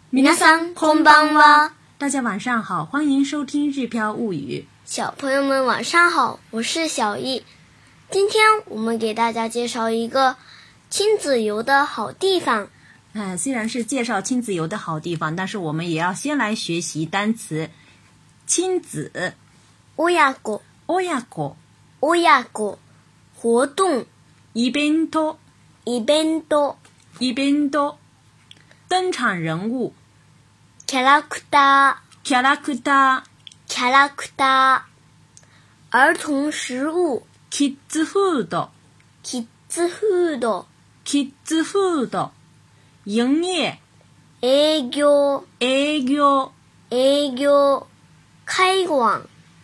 皆さんこんばんは。 大家晚上好，欢迎收听日飘物语。 小朋友们晚上好，我是小易。今天我们给大家介绍一个亲子游的好地方。 虽然是介绍亲子游的好地方，但是我们也要先来学习单词亲子。 親子活动イベント登场人物キャラクター儿童食物キッズフード营业営業開館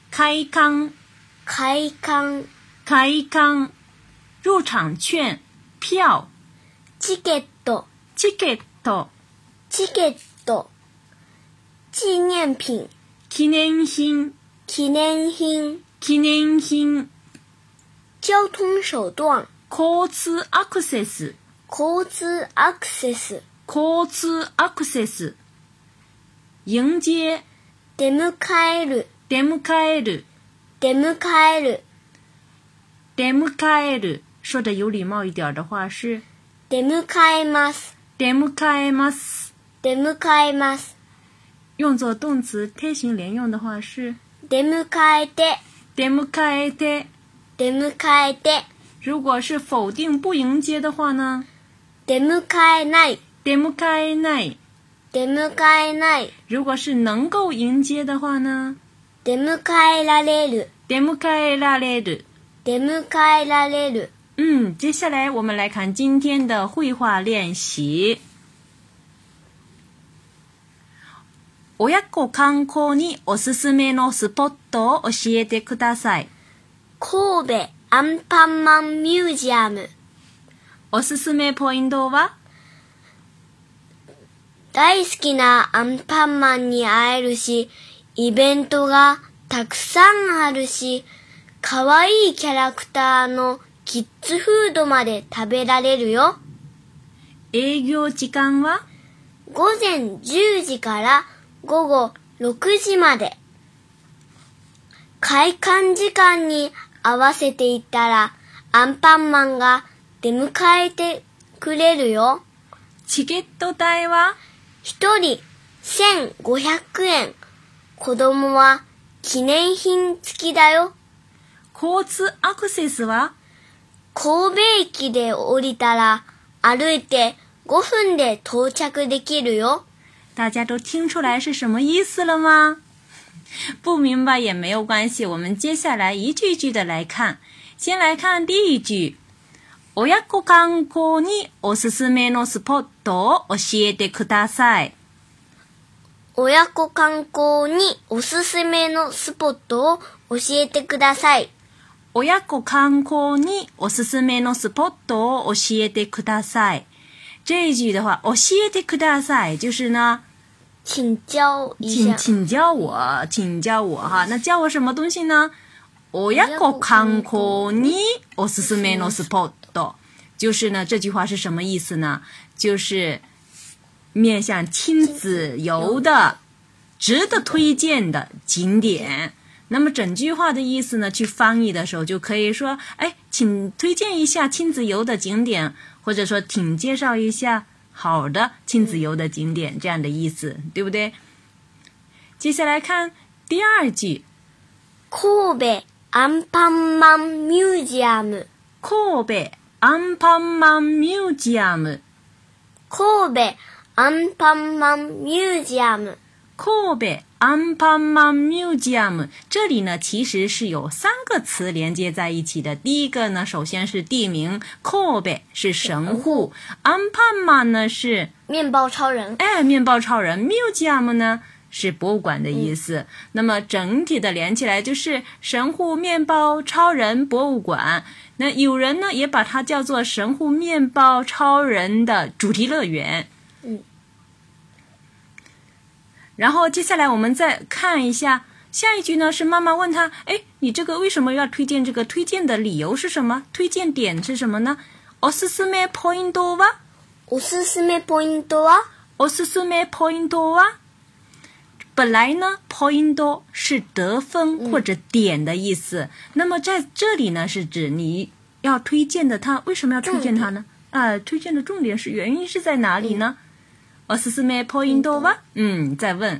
入场券票チケット紀念品記念品交通手段交通アクセス迎接出迎える说的有礼貌一点的话是出迎えます用作动词贴形连用的話是出迎えて如果是否定不迎接的話呢出迎えない如果是能够迎接的話呢出迎えられる接下來我們來看今天的繪畫練習親子観光におすすめのスポットを教えてください。 神戸アンパンマンミュージアム。 おすすめポイントは大好きなアンパンマンに会えるし、イベントがたくさんあるし、かわいいキャラクターのキッズフードまで食べられるよ。 営業時間は午前10時から午後6時まで。開館時間に合わせていったらアンパンマンが出迎えてくれるよ。 チケット代は 1人1500円。子供は記念品付きだよ。 交通アクセスは神戸駅で降りたら歩いて5分で到着できるよ。 大家都听出来是什么意思了吗？不明白也没有关系，我们接下来一句一句的来看。先来看第一句。親子観光におすすめのスポットを教えてください。 親子観光におすすめのスポットを教えてください。 親子観光におすすめのスポットを教えてください。这一句的话，教えてください就是呢， 请教一下， 请教我哈。那教我什么东西呢？親子観光におすすめのスポット，就是呢，这句话是什么意思呢？就是面向亲子游的、值得推荐的景点。那么整句话的意思呢，去翻译的时候就可以说，请推荐一下亲子游的景点，或者说请介绍一下好的亲子游的景点，这样的意思，对不对？接下来看第二句。 神戸アンパンマンミュージアム。 神戸アンパンマンミュージアム。 神戸アンパンマンミュージアム。 神戸アンパンマンミュージアム，这里呢其实是有3个词连接在一起的。第一个呢，首先是地名，神戸是神户，アンパンマン呢是面包超人， 面包超人，ミュージアム呢是博物馆的意思。那么整体的连起来就是神户面包超人博物馆。那有人呢也把它叫做神户面包超人的主题乐园。然后接下来我们再看一下下一句呢，是妈妈问他，你这个为什么要推荐这个？推荐的理由是什么？推荐点是什么呢？おすすめポイントは？ おすすめポイントは？ おすすめポイントは？本来呢 point 是得分或者点的意思，那么在这里呢是指你要推荐的它，为什么要推荐它呢？推荐的重点是原因是在哪里呢？おすすめポイントは？再问。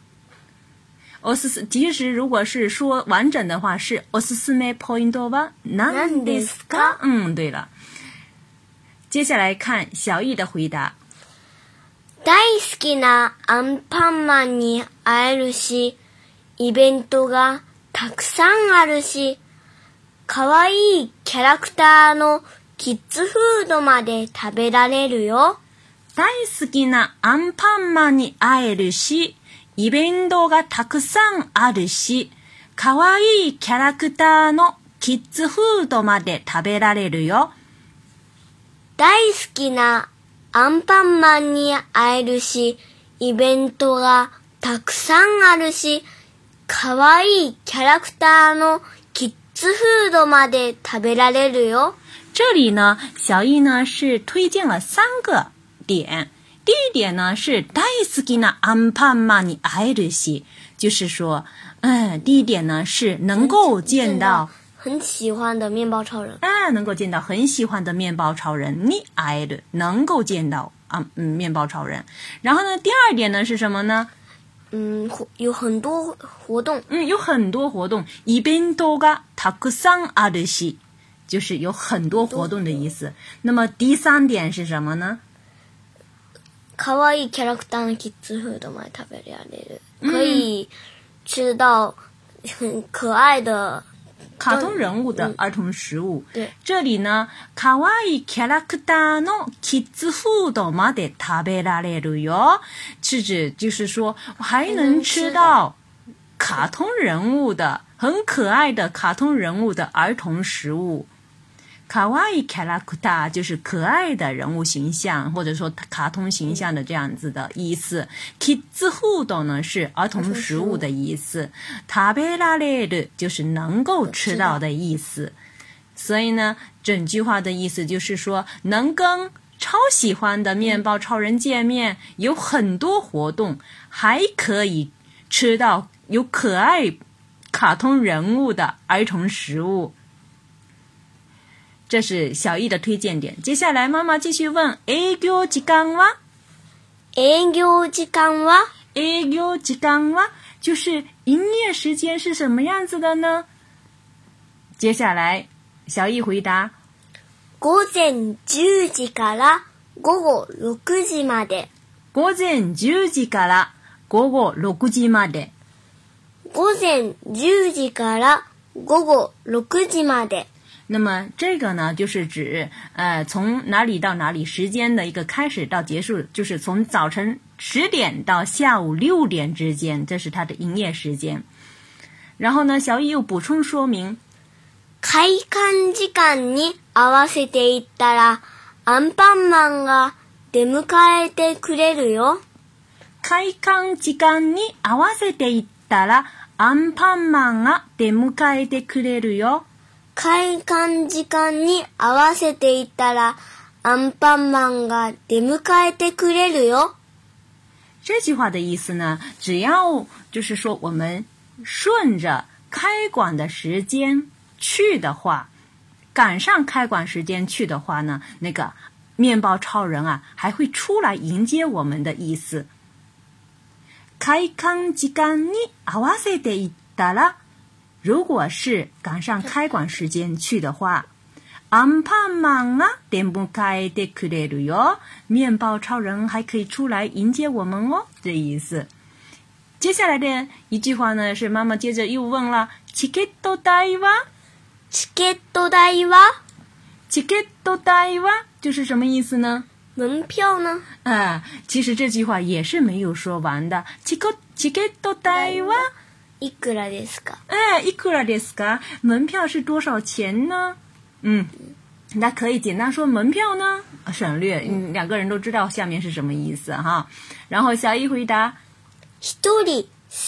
其实如果是说完整的话是おすすめポイントは何ですか？对了。接下来看小易的回答。 大好きなアンパンマンに会えるし、イベントがたくさんあるし、かわいいキャラクターのキッズフードまで食べられるよ。 大好きなアンパンマンに会えるし、イベントがたくさんあるし、かわいいキャラクターのキッズフードまで食べられるよ。 大好きなアンパンマンに会えるし、イベントがたくさんあるし、かわいいキャラクターのキッズフードまで食べられるよ。 这里呢，小易呢是推荐了3个点。第一点呢是大好きなアンパンマンに会えるし，就是说，第一点呢是能够见到很喜欢的面包超人， 能够见到很喜欢的面包超人，に会える，能够见到面包超人。然后呢，第二点呢是什么呢？ 有很多活动， 有很多活动。イベントがたくさんあるし，就是有很多活动的意思。那么第3点是什么呢？ かわいいキャラクターのキッズフードまで食べられる，可以吃到很可爱的卡通人物的儿童食物。 对， 这里呢，かわいいキャラクターのキッズフードまで食べられるよ，是指就是说还能吃到卡通人物的很可爱的卡通人物的儿童食物。かわいいキャラクター就是可愛的人物形象，或者说卡通形象的这样子的意思。キッズフード呢是儿童食物的意思，食べられる就是能够吃到的意思。所以呢，整句话的意思就是说，能跟超喜欢的面包超人见面，有很多活动，还可以吃到有可爱卡通人物的儿童食物。这是小易的推荐点。接下来妈妈继续问，営業時間は？ 営業時間は？ 営業時間は就是营业时间是什么样子的呢？接下来小易回答， 午前10時から午後6時まで。 午前10時から午後6時まで。 午前10時から午後6時まで。 那么这个呢，就是指从哪里到哪里时间的一个开始到结束，就是从早晨10点到下午6点之间，这是它的营业时间。然后呢，小易又补充说明， 開館時間に合わせていったらアンパンマンが出迎えてくれるよ。 開館時間に合わせていったらアンパンマンが出迎えてくれるよ。 開館時間に合わせていったらアンパンマンが出迎えてくれるよ。 这句话的意思呢，只要就是说我们顺着开馆的时间去的话，赶上开馆时间去的话呢，那个面包超人还会出来迎接我们的意思。開館時間に合わせていったら，如果是赶上开馆时间去的话，アンパンマンが出迎えてくれるよ，面包超人还可以出来迎接我们哦，这意思。接下来的一句话呢，是妈妈接着又问了，チケット代は？ チケット代は？ チケット代は就是什么意思呢？ 门票呢？ 其实这句话也是没有说完的。チケット代はいくらですか？ いくらですか？门票是多少钱呢？那可以简单说门票呢，省略，两个人都知道下面是什么意思哈。然后小易回答， 一人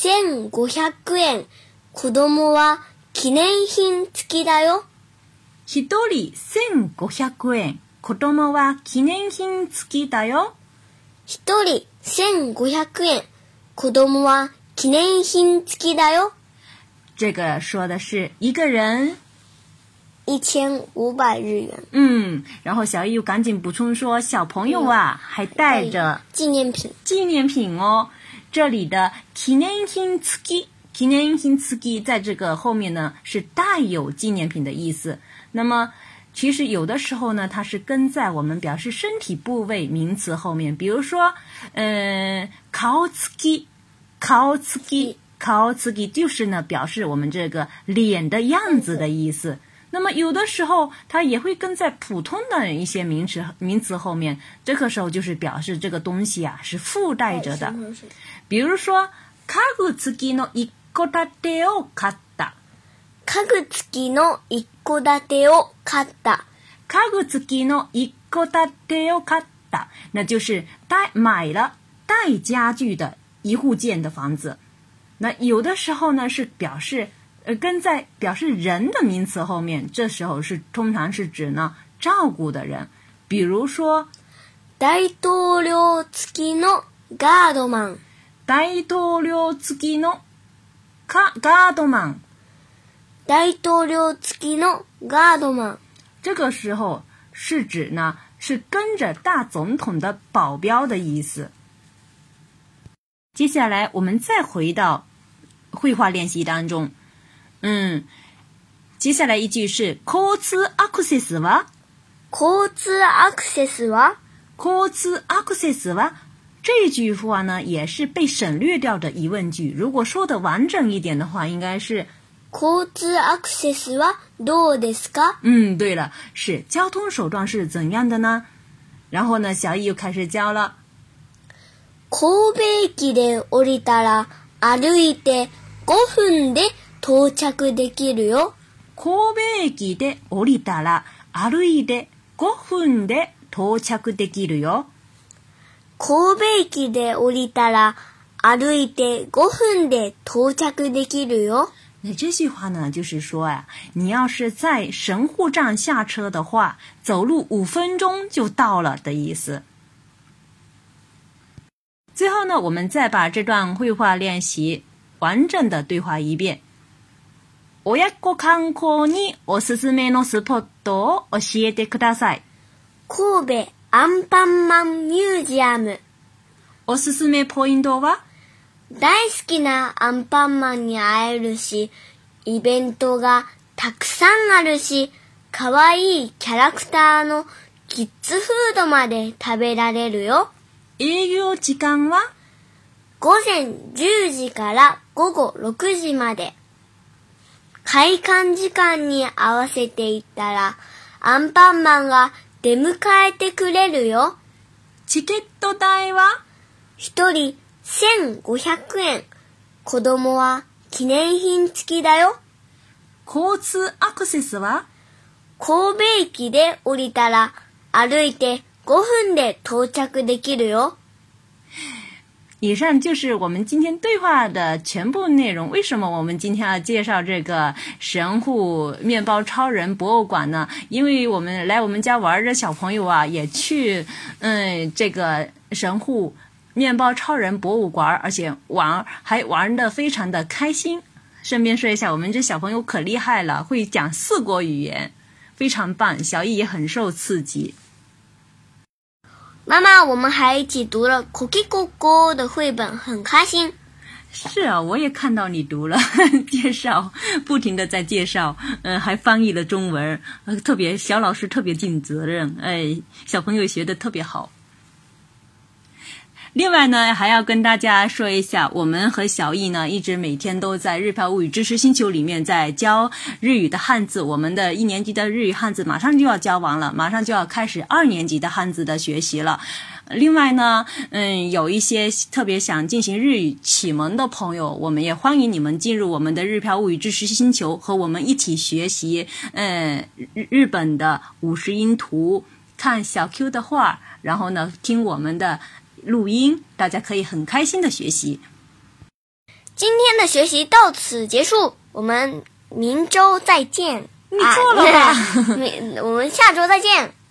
1500円、子供は記念品付きだよ。 一人1500円、子供は記念品付きだよ。 一人 1500円。子供は記念品付きだよ。 这个说的是一个人 1500日元。 然后小易又赶紧补充说，小朋友啊，还带着纪念品哦。这里的記念品付き，記念品付き在这个后面呢是带有纪念品的意思。那么其实有的时候呢，它是跟在我们表示身体部位名词后面，比如说顔つき就是呢表示我们这个脸的样子的意思。那么有的时候它也会跟在普通的一些名词后面，这个时候就是表示这个东西啊是附带着的。比如说家具付きの一戸建てを買った。 家具付きの一戸建てを買った。 家具付きの一戸建てを買った，那就是买了带家具的一户建的房子。那有的时候呢是表示跟在表示人的名词后面，这时候通常是指呢照顾的人。比如说大統領付きのガードマン。 大統領付きのガードマン。 大統領付きのガードマン。 这个时候是指呢是跟着大总统的保镖的意思。接下来我们再回到绘画练习当中。接下来一句是交通アクセスは？ 交通アクセスは？ 交通アクセスは？这句话呢也是被省略掉的疑问句，如果说的完整一点的话应该是交通アクセスはどうですか？ 对了，是交通手段是怎样的呢？然后呢小易又开始教了。 神戸駅で降りたら歩いて5分で到着できるよ。 神戸駅で降りたら歩いて5分で到着できるよ。 神戸駅で降りたら歩いて5分で到着できるよ。 那这句话呢就是说啊，你要是在神户站下车的话，走路5分钟就到了的意思。最后呢，我们再把这段绘画练习完整的对话一遍。親子観光におすすめのスポットを教えてください。 神戸アンパンマンミュージアム。 おすすめポイントは？ 大好きなアンパンマンに会えるし、イベントがたくさんあるし、かわいいキャラクターのキッズフードまで食べられるよ。 営業時間は？ 午前10時から午後6時まで。開館時間に合わせていったら、アンパンマンが出迎えてくれるよ。 チケット代は？ 一人1500円。子供は記念品付きだよ。 交通アクセスは？ 神戸駅で降りたら歩いて5分で到着できるよ。 以上就是我们今天对话的全部内容。为什么我们今天要介绍这个神户面包超人博物馆呢？因为我们来我们家玩的小朋友啊，也去这个神户面包超人博物馆，而且还玩得非常的开心。顺便说一下，我们这小朋友可厉害了，会讲4国语言，非常棒。小易也很受刺激。 妈妈，我们还一起读了《コキココ》的绘本，很开心。 是啊，我也看到你读了介绍，不停的在介绍，还翻译了中文，小老师特别尽责任，小朋友学得特别好。另外呢，还要跟大家说一下，我们和小易呢一直每天都在日漂物语知识星球里面在教日语的汉字，我们的1年级的日语汉字马上就要教完了，马上就要开始2年级的汉字的学习了。另外呢，有一些特别想进行日语启蒙的朋友，我们也欢迎你们进入我们的日漂物语知识星球，和我们一起学习日本的50音图，看小 Q 的画，然后呢听我们的录音，大家可以很开心的学习。 今天的学习到此结束，我们明周再见。 你错了吧？ 我们下周再见。